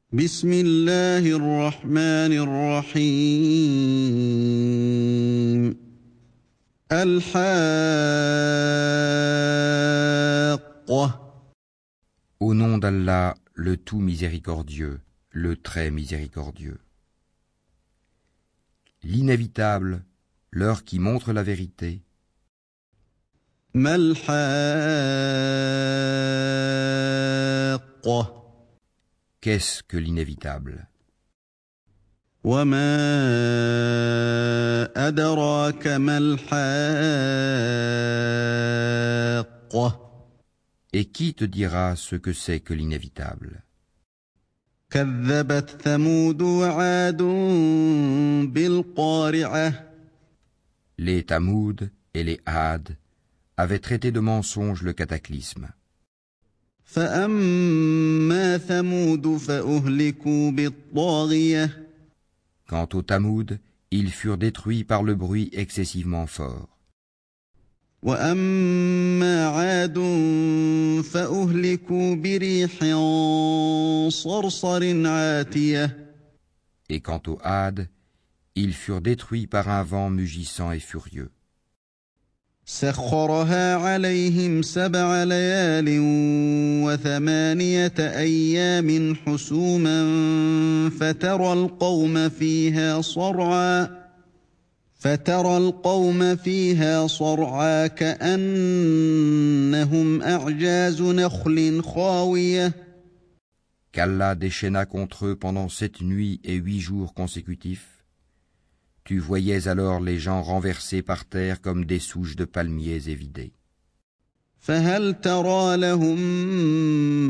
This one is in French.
بسم الله الرحمن الرحيم الحاقة. Au nom d'Allah, le tout miséricordieux, le très miséricordieux. L'inévitable, l'heure qui montre la vérité. ما الحاقة. Qu'est-ce que l'inévitable? وما أدراك ما الحاقة. Et qui te dira ce que c'est que l'inévitable? كذبت ثمود وعاد بالقارعة. Les Tamoud et les Had avaient traité de mensonge le cataclysme. فأما ثمود فأهلكوا بالطاغية. Quant aux Tamoud, ils furent détruits par le bruit excessivement fort. وأما عاد فأهلكوا بريح صرصر عاتية. Et quant aux Had, ils furent détruits par un vent mugissant et furieux. سخرها عليهم 7 ليال و8 أيام حسوما فترى القوم فيها صرعى كأنهم أعجاز نخل خاوية. Qu'Allah déchaîna contre eux pendant 7 nuits et 8 jours consécutifs. Tu voyais alors les gens renversés par terre comme des souches de palmiers évidées. فهل ترى لهم